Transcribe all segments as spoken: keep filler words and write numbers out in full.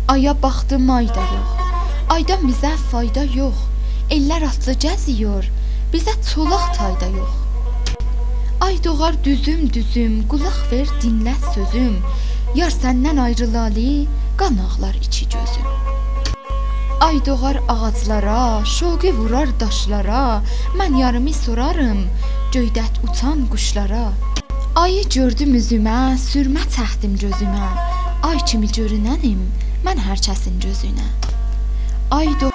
Aya baxdım, ay da yox. Aydan bizə fayda yox. Ellər atlı gəziyor, bizə çolaq tayda yox. Ay doğar düzüm düzüm, qulaq ver dinlə sözüm. Yar səndən ayrılalı, qan ağlar içi gözüm. Ay doğar ağaclara, şoqi vurar daşlara. Mən yarımı sorarım, göydət uçan quşlara. Ayı gördüm üzümə, sürmə təxtim gözümə. Ay kimi görünənim, mən hər kəsin gözünə. Ay doğar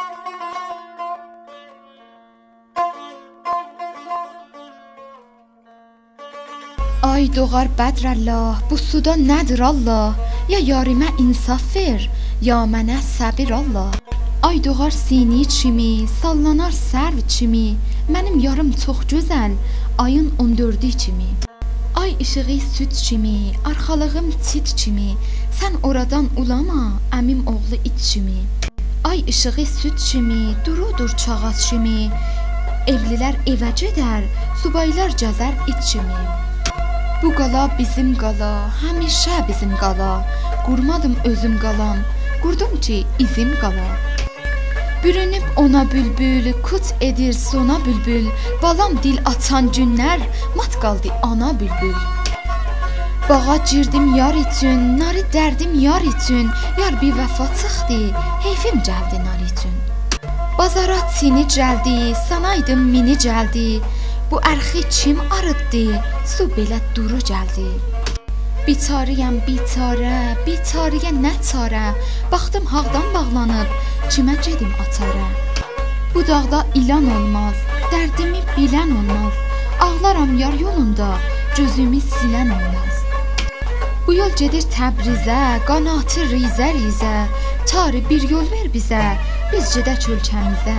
Ay doğar bədrəllah, bu suda nədir Allah? Ya yarimə insaf ver, ya mənə səbir Allah. Ay doğar sini çimi, sallanar sərv çimi. Mənim yarım çox gözəl, ayın on dördü kimi. Ay işığı süt çimi, arxalığım çit çimi. Sən oradan ulama, əmim oğlu it çimi. Ay işığı süt çimi, durudur çağaz çimi. Evlilər evə gedər, subaylar gəzər it çimi. Bu qala bizim qala, həmişə bizim qala. Qurmadım özüm qalam, qurdum ki izim qala. Bürünüb ona bülbül, kut edir sona bülbül. Balam dil açan günlər, mat qaldı ana bülbül. Bağa girdim yar üçün, nari dərdim yar üçün. Yar bir vəfa çıxdı, heyfim gəldi nar üçün. Bazara çini gəldi, sanaydım mini gəldi. Bu ərxi kim arıtdı, su belə duru gəldi. Biçariyəm biçarə, biçariyə nə çarə. Baxdım haqdan bağlanıb, kimə gedim atarə. Bu dağda ilan olmaz, dərdimi bilən olmaz. Ağlaram yar yolunda, gözümü silən olmaz. Bu yol gedir Təbrizə, qanatı rizə rizə. Tarı bir yol ver bizə, biz gedək ölkəmizə.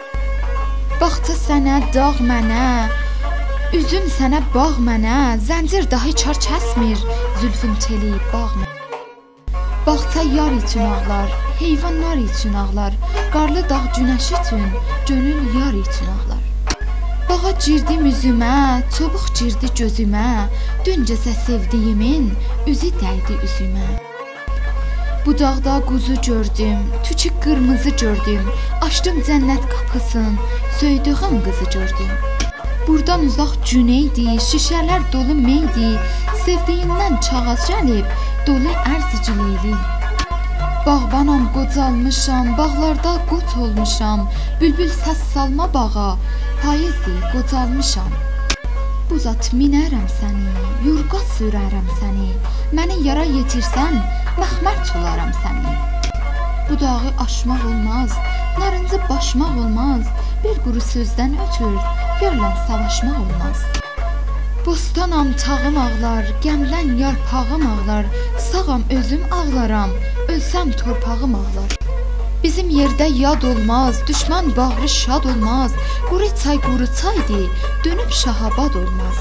Baxtı sənə, dağ mənə, üzüm sənə, bağ mənə. Zəncir dahi çar kəsmir, zülfün teli bağ mənə. Baxta yar üçün ağlar, heyvanlar üçün ağlar. Qarlı dağ günəş üçün, gönül yar üçün ağlar. Bağa girdim üzümə, çubuq girdi gözümə. Dün gecə sevdiyimin üzü dəydi üzümə. Bu dağda quzu gördüm, tükük qırmızı gördüm. Açdım cənnət qapısın, söydüğüm qızı gördüm. Buradan uzaq güneydi, şişələr dolu meydi. Sevdiyindən çağaz gəlib, dolu ərziciliyli. Bağbanam, qocalmışam, bağlarda qot olmuşam. Bülbül səs salma bağa, payızdır, qocalmışam. Buzat minərəm səni, yurqa sürərəm səni. Məni yara yetirsən, məxmər çolaram səni. Bu dağı aşmaq olmaz, narıncı başmaq olmaz. Bir quru sözdən ötür, yarla savaşmaq olmaz. Bostanam tağım ağlar, gəmlən yarpağım ağlar. Sağam özüm ağlaram, ölsəm torpağım ağlar. Bizim yerdə yad olmaz, düşmən bağrı şad olmaz. Quru çay quru çaydır, dönüb şahabad olmaz.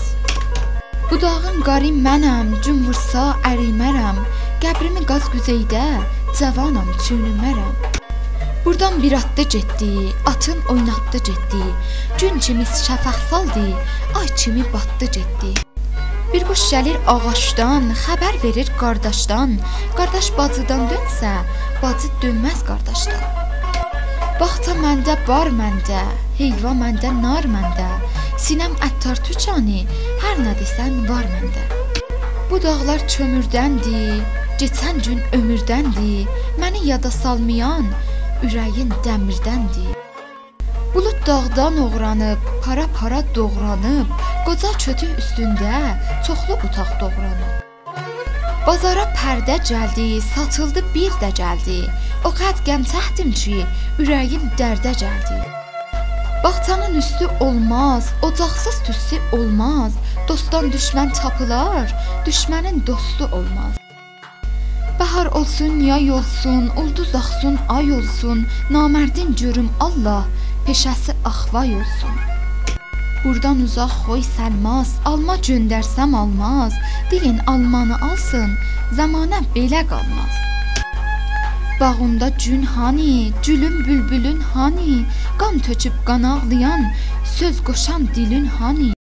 Bu dağın qarı mənəm, gün vursa ərimərəm. Qəbrimi qaz güzeydə, cavanam çünümərəm. Buradan bir atdı getdi, atın oynatdı getdi. Gün kimi şəfəq saldı, ay kimi batdı getdi. Bir quş gəlir ağaçdan, xəbər verir qardaşdan. Qardaş bacıdan dönsə, bacı dönməz qardaşdan. Baxta məndə bar məndə, heyva məndə nar məndə. Sinəm əttar tükanı, hər nə desən var məndə. Bu dağlar kömürdəndir, keçən gün ömürdəndir. Məni yada salmayan, ürəyin dəmirdəndir. Bulud dağdan oğranıb, para-para doğranıb. Qoca kötü üstündə, çoxlu butaq doğranıb. Bazara pərdə gəldi, satıldı bir də gəldi. O qəd qəmtəhdim ki, ürəyim dərdə gəldi. Baxtanın üstü olmaz, ocaqsız tüssü olmaz. Dostdan düşmən tapılar, düşmənin dostu olmaz. Bahar olsun, yay olsun, ulduz axsın, ay olsun. Namərdin görüm Allah, peşəsi axvay olsun. Buradan uzaq xoy səlmaz, alma göndərsəm almaz. Deyin almanı alsın, zamanə belə qalmaz. Bağında gün hani, gülün bülbülün hani. Qan töküb qan ağlayan, söz qoşan dilin hani.